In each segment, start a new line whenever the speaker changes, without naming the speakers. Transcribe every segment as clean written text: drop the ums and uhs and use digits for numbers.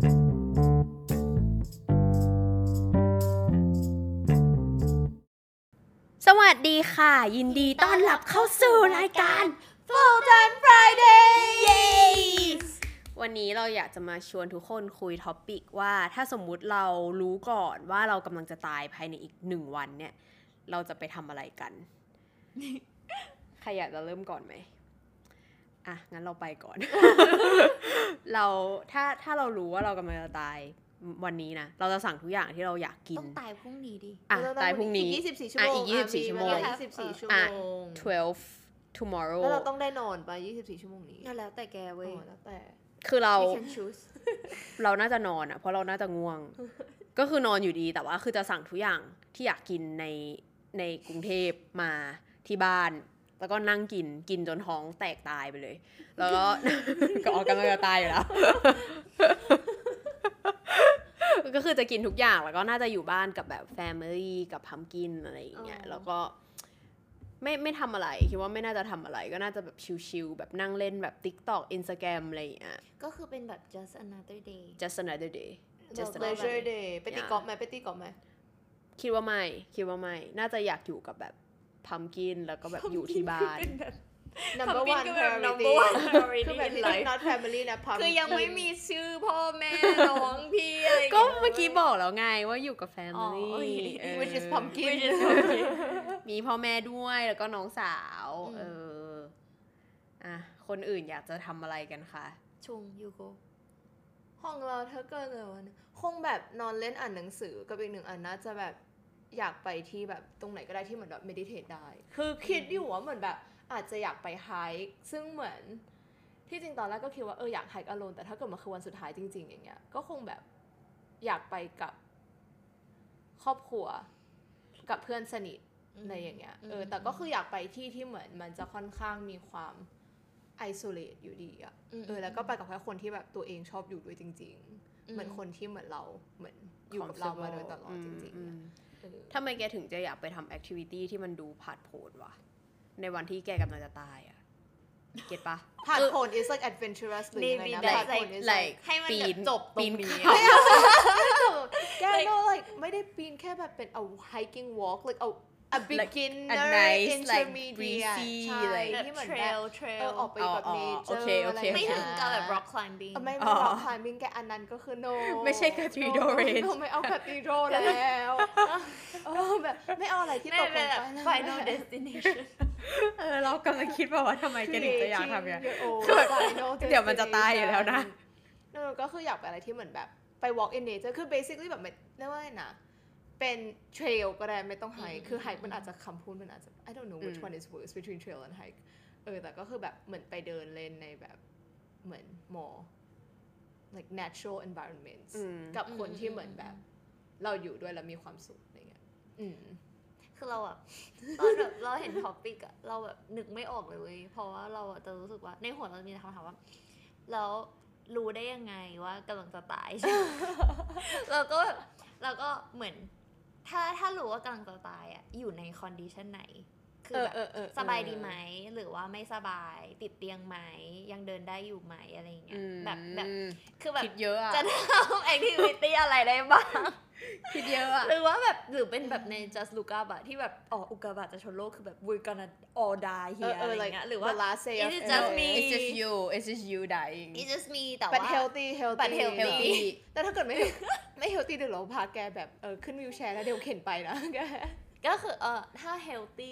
สวัสดีค่ะยินดีต้อนรับเข้าสู่รายการ Full Time Friday วันนี้เราอยากจะมาชวนทุกคนคุยท็อปิกว่าถ้าสมมุติเรารู้ก่อนว่าเรากำลังจะตายภายในอีก1 วันเนี่ยเราจะไปทำอะไรกัน ใครอยากจะเริ่มก่อนไหมอ่ะงั้นเราไปก่อน เราถ้าเรารู้ว่าเรากำลังจะตายวันนี้นะเราจะสั่งทุกอย่างที่เราอยากกิน
ต้องตายพรุ่งนี้ดิ
ตายพรุ่งนี้
อีก24 ชั่วโมง
อีก24 ชั่วโมง
24 ชั่วโมง
12 tomorrow
แล้วเราต้องได้นอนไป24 ชั่วโมงนี้
แล้วแต่แกเว้ย
แล้วแต่
คือเรา
you can choose
เราน่าจะนอนอ่ะเพราะเราน่าจะง่วง ก็คือนอนอยู่ดีแต่ว่าคือจะสั่งทุกอย่างที่อยากกินในกรุงเทพมาที่บ้านแล้วก็นั่งกินจนท้องแตกตายไปเลยแล้วก็ ก็ออกกำลังจะตายอยู่แล้ว ก็คือจะกินทุกอย่างแล้วก็น่าจะอยู่บ้านกับแบบ family กับพัมกินอะไรอย่างเงี้ยแล้วก็ไม่ทำอะไรคิดว่าไม่น่าจะทำอะไรก็น่าจะแบบชิลๆแบบนั่งเล่นแบบ TikTok Instagram อะไรอย่างเงี้ย
ก็คือเป็นแบบ just another day
just another day
just leisure day ไปตีกอล์ฟไหม
คิดว่าไม่น่าจะอยากอยู่กับแบบพัมกินแล้วก็แบบอยู่ที่บ้าน
number one priority คือแบบ not family นะพัม
คือยังไม่มีชื่อพ่อแม่น้องพี่อะไร
ก็เมื่อกี้บอกแล้วไงว่าอยู่กับ family
which is pumpkin
มีพ่อแม่ด้วยแล้วก็น้องสาวอ่ะคนอื่นอยากจะทำอะไรกันคะ
ชุงยูโก
ห้องเราถ้าเกิดเลยวันคงแบบนอนเล่นอ่านหนังสือกับอีกหนึ่งอันน่าจะแบบอยากไปที่แบบตรงไหนก็ได้ที่เหมือนแบบ meditate ได้คือคิดอยู่ว่าเหมือนแบบอาจจะอยากไปไฮค์ซึ่งเหมือนที่จริงตอนแรกก็คิดว่าอยากไฮค์ alone แต่ถ้าเกิดมันคือวันสุดท้ายจริงๆอย่างเงี้ยก็คงแบบอยากไปกับครอบครัวกับเพื่อนสนิทในอย่างเงี้ยแต่ก็คืออยากไปที่เหมือนมันจะค่อนข้างมีความisolate อยู่ดีอ่ะแล้วก็ไปกับแค่คนที่แบบตัวเองชอบอยู่ด้วยจริงๆเหมือนคนที่เหมือนเราเหมือนอยู่กับเรามาโดยตลอดจริงๆ
ทำไมแกถึงจะอยากไปทำ activity ที่มันดูผาดโผนวะในวันที่แกกำลังจะตายอ่ะเก็ทปะ
ผาดโผน is like adventurous หรือไงนะผาดโผน is like
ให้มันจบตรงนี้
แก no like ไม่ได้ปีนแค่แบบเป็น a hiking walk like a beginner intermediate ใช่ที่เหมือนแบบออกไปแบบ nature อะไร
ไม่ถึงกับแบบ rock climbing
ไม่ rock climbing แกอันนั้นก็คือ no
ไม่ใช่ cathedral range
ไม่เอา cathedral แล้วแบบไม่เอาอะไรที่ตกลงไป
final destination
เรากำลังคิดว่าทำไมแกถึงจะอยากทำอย่างนี้เดี๋ยวมันจะตายอยู่แล้วนะ
ก็คืออยากไปอะไรที่เหมือนแบบไป walk in nature คือ basically แบบเรียกว่าไงนะเป็น trail ก็ได้ไม่ต้อง hike คือ hike มันอาจจะคำพูดมันอาจจะ I don't know which one is worse between trail and hike แต่ก็คือแบบเหมือนไปเดินเล่นในแบบเหมือน more like natural environments กับคนที่เหมือนแบบเราอยู่ด้วยแล้วมีความสุขอะไรเงี้ย
คือเราอะตอนแบบเราเห็นท็อปิกอะเราแบบนึกไม่ออกเลยเว้ยเพราะว่าเราจะรู้สึกว่าในหัวเรามีคำถามว่าแล้วรู้ได้ยังไงว่ากำลังจะตาย เราก็เหมือนถ้ารู้ว่ากำลังจะตายอะอยู่ในคอนดิชันไหนคือแบบสบายดีไหมหรือว่าไม่สบายติดเตียงไหมยังเดินได้อยู่ไหมอะไรเงี้ยแบบคือแบบจะทำแอคทิวิตี้อะไรได้บ้าง
คิดเยอะอะ
หรือว่าแบบหรือเป็นแบบใน just look up อะที่แบบอุกกาบาตจะชนโลกคือแบบ we're gonna all die here อะไรเงี้ยหรือว่า
it's
just me
it's just you dying
it's just me แต่ว่า
but healthy แต่ถ้าเกิดไม่ healthy เดี๋ยวเราพาแกแบบขึ้นวีลแชร์แล้วเดี๋ยวเข็นไปนะแก
ก็คือถ้า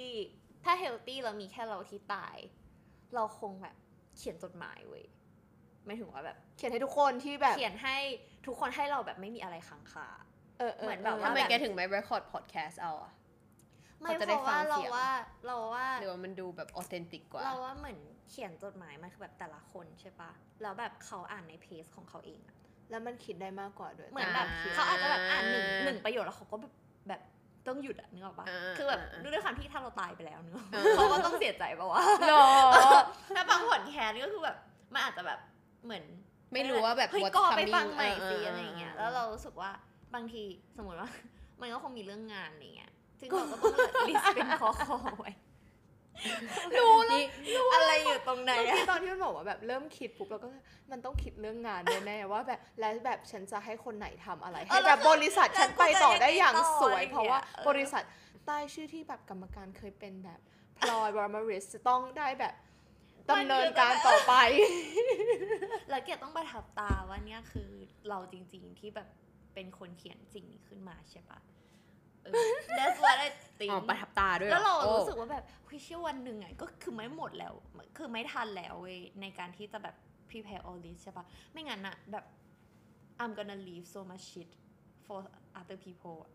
healthy เรามีแค่เราที่ตายเราคงแบบเขียนจดหมายเว้ยไม่ถึงว่าแบบ
เขียนให้ทุกคนที่แบบ
เขียนให้ทุกคนให้เราแบบไม่มีอะไรค้างคาเหมือนแบบ
ทำไมแกถึงไม่ record podcast เอาอะ
ไม่เพราะว่าเราว่า
หรือว่ามันดูแบบ authentic กว่า
เราว่าเหมือนเขียนจดหมายมันคือแบบแต่ละคนใช่ปะแล้วแบบเขาอ่านในเพจของเขาเองอะ
แล้วมันคิดได้มากกว่าด้วย
เหมือนแบบเขาอาจจะแบบอ่านหนึ่งประโยคแล้วเขาก็แบบต้องหยุดอะนึกออกปะคือแบบด้วยความที่ถ้าเราตายไปแล้วเนอะเขาก็ต้องเสียใจปะวะถ้าบางผลแคสก็คือแบบมันอาจจะแบบเหมือน
ไม่รู้ว่าแบบ
ก็ไปฟังใหม่สิอะไรอย่างเงี้ยแล้วเรารู้สึกว่าบางทีสมมติว่ามันก็คงมีเรื่องงานอะไรเงี้ยซึ่งเราก็ต้องลิสต์เป็นข้อไว้
นี่
อะไรอยู่ตรงไหน
เมื่อ
อะ
กี้ตอนที่มันบอกว่าแบบเริ่มคิดปุ๊บแล้วก็มันต้องคิดเรื่องงานแน่ๆว่าแบบแล้วแบบฉันจะให้คนไหนทำอะไรให้แบบบริษัทฉันไปต่อได้อย่างสวย เพราะว่าบริษัทใต้ชื่อที่แบบกรรมการเคยเป็นแบบพลอยวอร์มาริสจะต้องได้แบบดำเนินการต่อไป
แล้วแกต้องประทับตาว่าเนี่ยคือเราจริงๆที่แบบเป็นคนเขียนสิ่งนี้ขึ้นมาใช่ปะthat's what I think
อ๋อประทับตาด้วยหอ
แล้วเรา
โอ้
รู้สึกว่าแบบเฮ้ยเชื่อวันหนึ่งอ่ะก็คือไม่หมดแล้วคือไม่ทันแล้วเว้ยในการที่จะแบบ prepare all this ใช่ปะไม่งั้นอะแบบ I'm gonna leave so much shit for other people อะ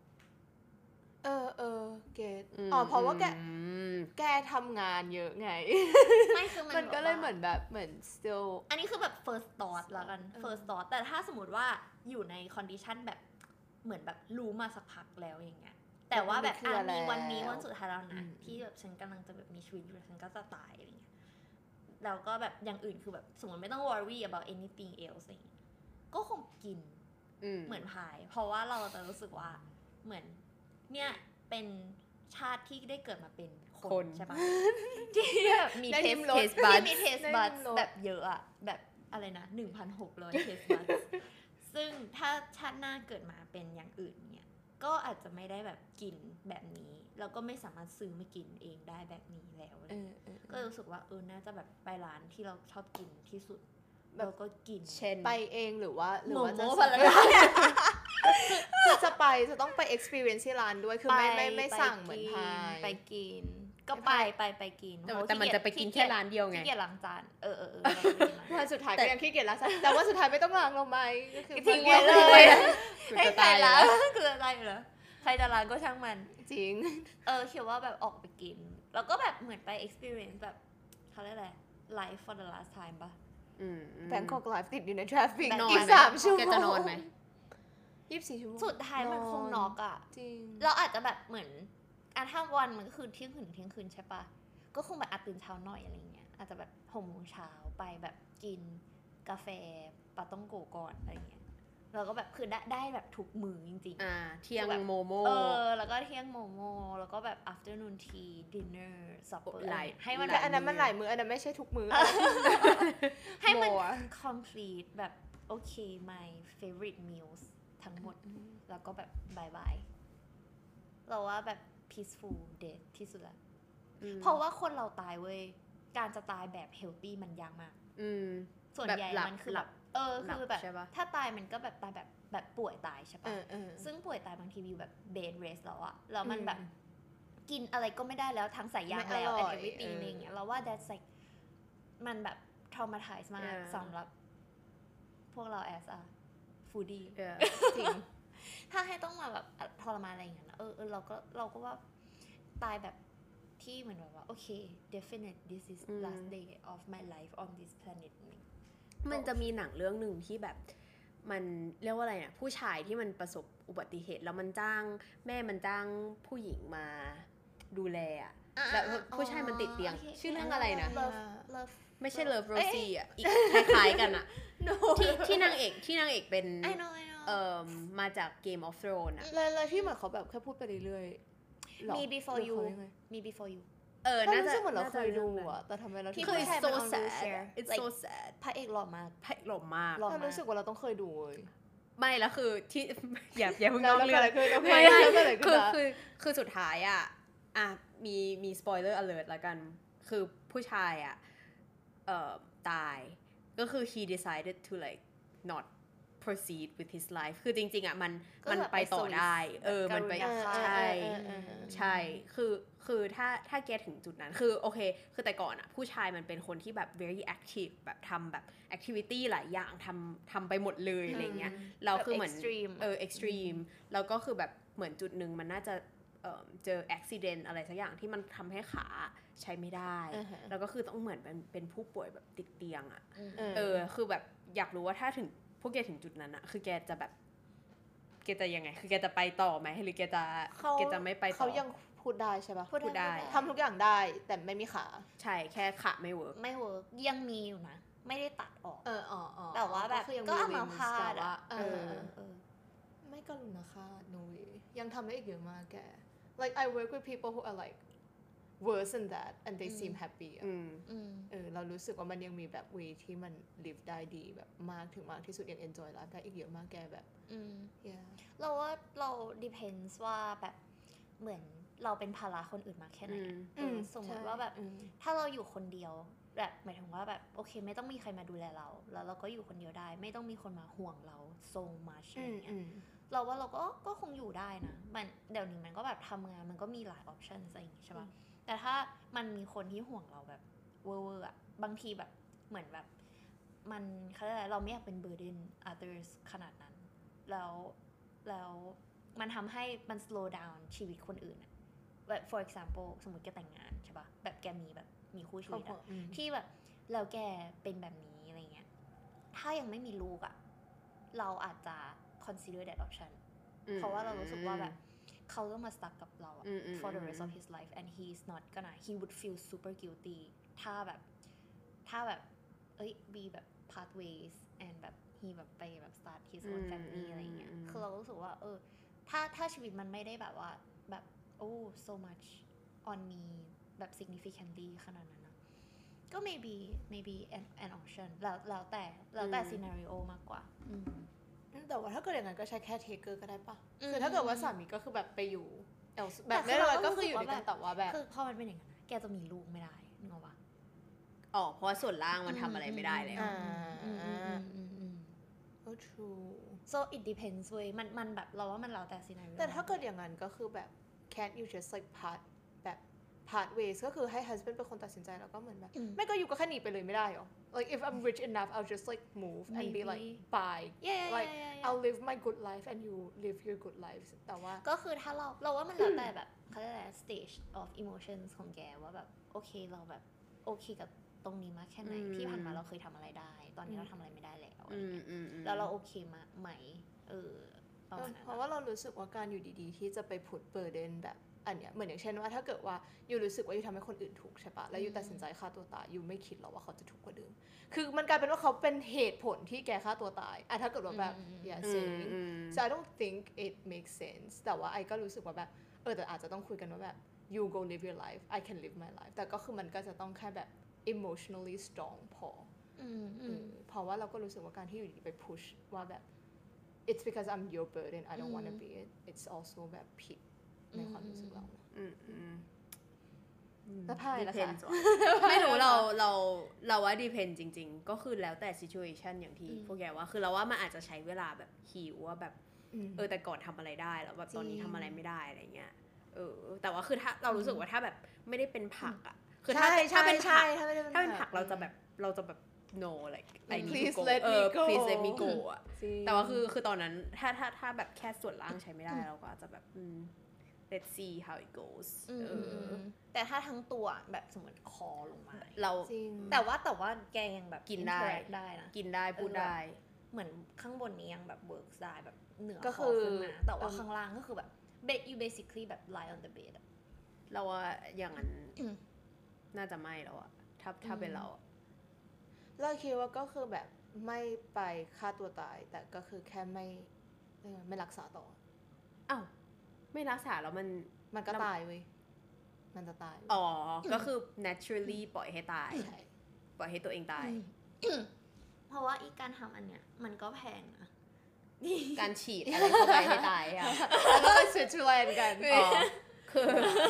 เกตเพราะว่าแกทำงานเยอะไง
ไม่คือ
มันก็เลยเหมือนแบบ still
อันนี้คือแบบ first thought แล้วกัน first thought แต่ถ้าสมมติว่าอยู่ใน condition แบบเหมือนแบบรู้มาสักพักแล้วอย่างเงี้ยแต่ว่าแบบมีวันนี้วันสุดท้ายแล้วนะที่แบบฉันกำลังจะแบบมีชีวิตอยู่ฉันก็จะตายอะไรเงี้ยแล้วก็แบบอย่างอื่นคือแบบสมมติไม่ต้อง worry about anything else อะไรเงี้ยก็คงกินเหมือนพายเพราะว่าเราจะรู้สึกว่าเหมือนเนี่ยเป็นชาติที่ได้เกิดมาเป็นคนใช่ปะที่แบบมี
ได้
เท
ลิ้
ส
มรส
ที่มีเทส
ได้
บัส
ลิ้มรส
แบบเยอะอะแบบอะไรนะ 1,600 เทสบัส ซึ่งถ้าชาติหน้าเกิดมาเป็นอย่างอื่นเนี่ยก็อาจจะไม่ได้แบบกินแบบนี้แล้วก็ไม่สามารถซื้อมากินเองได้แบบนี้แล้วก็รู้สึกว่าน่าจะแบบไปร้านที่เราชอบกินที่สุดแล้วก็กิน
เช่น
ไปเองหรือว่าจะ
โมพาราดา
คือจะไปจะต้องไป experience ที่ร้านด้วยคือไม่สั่งเหมือนพาย
ไปกินก็ไปกิน
แต่มันจะไปกินแค่ร้านเดียวไง
ขี้เกียจล้างจาน
วันสุดท้ายก็ยังขี้เกียจล้างแต่ว่าสุดท้ายไม่ต้องล้างเราไหมก็คือ
ทิ้งไว้เลย
คือ
ให้
จะ
ใคร
ตาย
ล้า
แล้
ง
ว
คืออะไรเหรอใครจะล้างก็ช่างมัน
จริง
คิดว่าแบบออกไปกิน แล้วก็แบบเหมือนไป experience แบบเขาเรียกอะไร life for the last time ปะ
แบงกอกไลฟ์ติดอยู่ในทราฟฟิก
นอน
อีก
ไหม
3 ชั่วโมง
แกจะนอนไหม
24 ชั่วโมง
สุดท้ายมันคงน็อกอะ
จริง
เราอาจจะแบบเหมือนถ้าวันมันก็คือเที่ยงคืนถึงเที่ยงคืนใช่ปะก็คงแบบตื่นเช้าหน่อยอะไรเงี้ยอาจจะแบบ6 โมงเช้าไปแบบกินกาแฟปาต้องโกก่อนอะไรเงี้ยแล้วก็แบบคือได้แบบทุกมื้อจริงๆ
เที่ยงโมโม
แล้วก็เที่ยงโมโมแล้วก็แบบ afternoon tea dinner supper
หลาย
ให้มัน
แต่อันนั้นมันหลายมื้ออันนั้นไม่ใช่ทุกมื้อ
ให้มัน
โมอะ
complete แบบโอเค my favorite meals ทั้งหมด แล้วก็แบบบายบายเราว่าแบบ peaceful death ที่สุดละเพราะว่าคนเราตายเว้ยการจะตายแบบ healthy มันยากมากส่วนใหญ่มันคือแบบคือแบบถ้าตายมันก็แบบตายแบบป่วยตายใช่ปะซึ่งป่วยตายบางทีอยู่แบบ bed rest แล้วอะแล้วมันแบบกินอะไรก็ไม่ได้แล้วทั้งสายยางแล้ว and everything อะไรอย่างเงี้ยเราว่า that's like มันแบบ traumatize มากสำหรับพวกเรา as a foodie
จริง
ถ้าให้ต้องมาแบบทรมานอะไรอย่างเงี้ยเราก็ว่าตายแบบที่เหมือนแบบว่าโอเค definite this is last day of my life on this planet
มันจะมีหนังเรื่องหนึ่งที่แบบมันเรียกว่าอะไรนะผู้ชายที่มันประสบอุบัติเหตุแล้วมันจ้างผู้หญิงมาดูแลอะแล้วผู้ชายมันติดเตียงชื่อเรื่องอะไรนะ
Love
ไม่ใช่ Love Rosie อ่ะอีกคล้ายๆกันอ่ะที่นางเอกเป็น
I know
มาจาก Game of Thrones อ่ะ
แล้วที่เหมือนเขาแบบแค่พูดไปเรื่อยๆ
มี before you
ยังไง
มี before you
น่าจะเหมือนเราเคยดูอะแต่ททำไมเรา
ที่
คือ
ผู้ชาย
so
มัน on
sad
wheelchair
it's so sad
พระเอกหล่อมาก
ไพ่หล่อมาก
หล่อ
เรารู้สึกว่าเราต้องเคยดูเลย
ไม่แล้วคือที่ อย่าเพิ่ง
แล้ว
เรื่อง
เกิดอะไรขึ้น
ไม่
แล้วเกิดอะไรขึ้น
คือสุดท้ายอ่ะมี spoiler alert แล้วกันคือผู้ชายตายก็คือ he decided to like not proceed with his life คือจริงๆมันไปต่อได้มันไปใช่คือถ้าแกถึงจุดนั้นคือโอเคคือแต่ก่อนผู้ชายมันเป็นคนที่แบบ very active แบบทำแบบ activity หลายอย่างทำไปหมดเลยอะไรเงี้ยเราคือเหมือนextreme แล้วก็คือแบบเหมือนจุดหนึ่งมันน่าจะเจอ accident อะไรสักอย่างที่มันทำให้ขาใช้ไม่ได้แล้วก็คือต้องเหมือนเป็นผู้ป่วยแบบติดเตียงคือแบบอยากรู้ว่าถ้าถึงพวกแกถึงจุดนั้นคือแกจะแบบแกจะยังไงคือแกจะไปต่อไหมหรือแกจะไม่ไปต่อ
เขายังพูดได้ใช่ปะ
พูดได้
ทำทุกอย่างได้แต่ไม่มีขา
ใช่แค่ขาไม่เวิร์ก
ไม่เวิร์กยังมีอยู่นะไม่ได้ตัดออก
แต่
ว่าแบบ
คือยัง
ก็
มี
เอามา
limbs
พาด
แต่ว่า
ไม่
ไม่กรุณาค่า no way ยังทำได้อีกเยอะมากแก like I work with people who are like worse than that and they seem happy อะ เรารู้สึกว่ามันยังมีแบบ way ที่มัน live ได้ดีแบบมากถึงมากที่สุดยัง enjoy life ได้อีกเยอะมากแกแบบyeah
เราว่าเรา depends ว่าแบบเหมือนเราเป็นภาระคนอื่นมากแค่ไหนสมมติว่าแบบถ้าเราอยู่คนเดียวแบบหมายถึงว่าแบบโอเคไม่ต้องมีใครมาดูแลเราแล้วเราก็อยู่คนเดียวได้ไม่ต้องมีคนมาห่วงเรา so much อะไรเงี้ยเราว่าเราก็คงอยู่ได้นะมันเดี๋ยวนี้มันก็แบบทำงานมันก็มีหลาย option อะไรอย่างงี้ใช่ป่ะแต่ถ้ามันมีคนที่ห่วงเราแบบเวอร์ๆอะบางทีแบบเหมือนแบบมันเขาเรียกอะไรเราไม่อยากเป็น burden others ขนาดนั้นแล้วมันทำให้มัน slow down ชีวิตคนอื่นอะแบบ for example สมมติแกแต่งงานใช่ป่ะแบบแกมีแบบมีคู่ชีวิตอะที่แบบแล้วแกเป็นแบบนี้อะไรเงี้ยถ้ายังไม่มีลูกอะเราอาจจะ consider that option เพราะว่าเรารู้สึกว่าแบบเขาต้องมา stuck กับเรา for the rest of his life and he's not gonna he would feel super guilty ถ้าแบบbe แบบ part ways and แบบ he แบบไปแบบ start his own family อะไรเงี้ยคือเรารู้สึกว่าถ้าชีวิตมันไม่ได้แบบว่าแบบso much on me แบบ significantly ขนาดนั้นนะก็ maybe an option แล้วแต่ scenario มากกว่า
แต่ว่าถ้าเกิดอย่างนั้นก็ใช้แค่ taker ก็ได้ปะคือถ้าเกิดว่าสามีก็คือแบบไปอยู่แบบไม่เลยก็คืออยู่ด้วยกันแต่ว่าแบบ
คือพอมันเป็นอย่างนั้นแกจะมีลูกไม่ได้นึกออกปะ
เพราะว่าส่วนล่างมันทำอะไรไม่ได้แล้ว
true
so it depends เว้ยมันแบบเราว่ามันแล้วแต่ scenario
แต่ถ้าเกิดอย่างนั้นก็คือแบบ can't you just like part ways ก็คือให้ husband เป็นคนตัดสินใจแล้วก็เหมือนแบบไม่ก็อยู่ก็แค่หนีไปเลยไม่ได้หรอ like if I'm rich enough I'll just like move and be like bye like I'll live my good life and you live your good lives แต่ว่า
ก็คือถ้าเราว่ามันแล้วแต่แบบเขาเรียกอะไร stage of emotions ของแกว่าแบบโอเคเราแบบโอเคกับตรงนี้มากแค่ไหนที่ผ่านมาเราเคยทำอะไรได้ตอนนี้เราทำอะไรไม่ได้แล้วอะไรเงี้ยแล้วเราโอเคไหมประมาณนั้น
เพราะว่าเรารู้สึกว่าการอยู่ดีๆที่จะไปput burdenแบบอันเนี้ยเหมือนอย่างเช่นว่าถ้าเกิดว่าอยู่รู้สึกว่าอยู่ทำให้คนอื่นทุกข์ใช่ปะแล้วอยู่ตัดสินใจฆ่าตัวตายอยู่ไม่คิดหรอกว่าเขาจะทุกข์กว่าเดิมคือมันกลายเป็นว่าเขาเป็นเหตุผลที่แกฆ่าตัวตายถ้าเกิดว่าแบบ saying so I don't think it makes sense แต่ว่าไอ้ก็รู้สึกว่าแบบแต่อาจจะต้องคุยกันว่าแบบ you go live your life I can live my life แต่ก็คือมันก็จะต้องแค่แบบ emotionally strong พอเพราะว่าเราก็รู้สึกว่าการที่อยู่ดีไป push ว่าแบบ it's because I'm your burden I don't want to be it it's also แบบผิดในความรู้สึกเราแล้วพายล่ะคะ
ไม่รู้เราว่า depend จริงๆก็คือแล้วแต่ situation อย่างที่พวกแกว่าคือเราว่ามันอาจจะใช้เวลาแบบหิวว่าแบบแต่ก่อนทำอะไรได้แล้วแบบตอนนี้ทำอะไรไม่ได้อะไรเงี้ยแต่ว่าคือถ้าเรารู้สึกว่าถ้าแบบไม่ได้เป็นผักอ่ะคือถ้าเป็นผักเราจะแบบ no like I need to go please let me go อ่ะแต่ว่าคือตอนนั้นถ้าแบบแค่ส่วนล่างใช้ไม่ได้เราก็อาจจะแบบlet's see how it goes
แต่ถ้าทั้งตัวแบบสมมติคอลงมา
เรา
แต่ว่าแกยังแบบ
กินได้
นะ
กินได้พูดได้
เหมือนข้างบนนี้ยังแบบเวิร์กได้แบบเหนือคอขึ้นมาแต่ว่าข้างล่างก็คือแบบ you basically แบบ lie on the bed
เราว่าอย่างนั้นน่าจะไม่แล้วอะถ้าเป็นเรา
เราคิดว่าก็คือแบบไม่ไปฆ่าตัวตายแต่ก็คือแค่ไม่รักษาต่อ
ไม่รักษาแล้ว
มันก็ตายเว้ยมันจะตาย
ก็คือ naturally ปล่อยให้ตายปล่อยให้ตัวเองตาย
เพราะว่าอีการทำอันเนี้ยมันก็แพงนะ
การฉีดอะไรเข้าไปให้ตายอะ
แล้วก็ไปสวิตเซอร์แลนด์กัน
คือ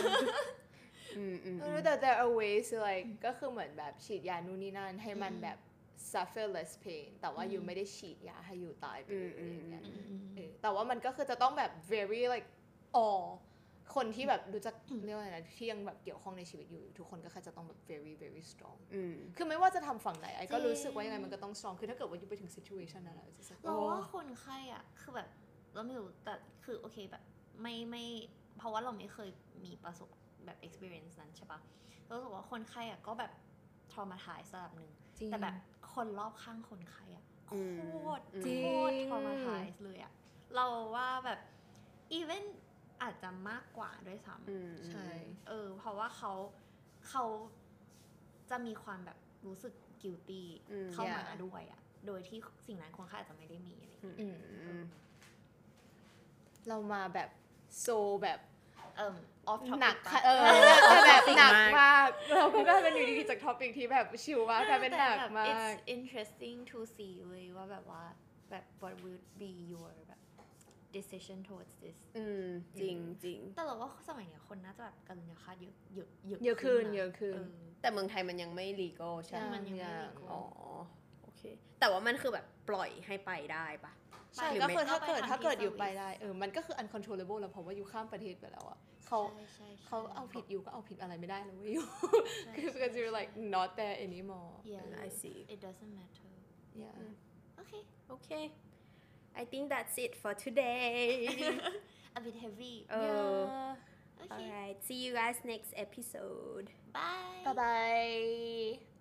แต่ there are ways like ก็คือเหมือนแบบฉีดยานู่นนี่นั่นให้มันแบบ suffer less pain แต่ว่าอยู่ไม่ได้ฉีดยาให้อยู่ตายไปเลยอย่างเงี้ยแต่ว่ามันก็คือจะต้องแบบ very likeคนที่แบบรู้จักเรียกว่าอะไรนะที่ยังแบบเกี่ยวข้องในชีวิตอยู่ทุกคนก็แค่จะต้องแบบ very very strong คือไม่ว่าจะทำฝั่งไหนไอ้ก็รู้สึกว่ายังไงมันก็ต้อง strong คือถ้าเกิดว่าอยู่ไปถึง situation นั้นแล้ว
เราว่าคนไข้อ่ะคือแบบเราไม่รู้แต่คือโอเคแบบไม่เพราะว่าเราไม่เคยมีประสบแบบ experience นั้นใช่ปะเรารู้สึกว่าคนไข้อ่ะก็แบบ traumatize ระดับนึงแต่แบบคนรอบข้างคนไข้อ่ะโคตร traumatize เลยอ่ะเราว่าแบบ evenอาจจะมากกว่าด้วยซ้
ำใช่
เพราะว่าเขาจะมีความแบบรู้สึก guilty เข้ามาด้วยอ่ะโดยที่สิ่งนั้นคนไข้อาจจะไม่ได้มีอะไร
เรามาแบบโซแบบ
off topic
หนัก
ปะ
ค่ะแต่แบบหนักมากเราก็กลายเป็นอยู่ดีๆจากท็อปิกที่แบบชิลมากกลายเป็นหนักมาก
it's interesting to see เว้ยว่าแบบว่าแบบ what would be your แบบ decision towards this
จริงจริง
แต่เราว่าสมัยเนี้ยคนน่าจะแบบการุญยฆาตเยอะ
เยอะขึ้น
นะ
เยอะขึ้น
แต่เมืองไทยมันยังไม่ legal ใช่ไหม
มันยังไม่ legal
อ๋อโอเค แต่ว่ามันคือแบบปล่อยให้ไปได้ปะ
ใช่
หรือ
ก็
ไม่
คือถ้าเกิด
ก็ไปทำที่
อยู่ไป
service
ได้มันก็คือ uncontrollable แล้วเพราะว่าอยู่ข้ามประเทศไปแล้วอ่ะเขาเอาผิดอยู่ก็เอาผิดอะไรไม่ได้แล้วเว้ยอยู่ คือ because you're like not there anymore
yeah
I see
it doesn't matter
yeah
okay
okay I think that's it for today
a bit heavy
yeah
okay
alright see you guys next episode
bye
bye bye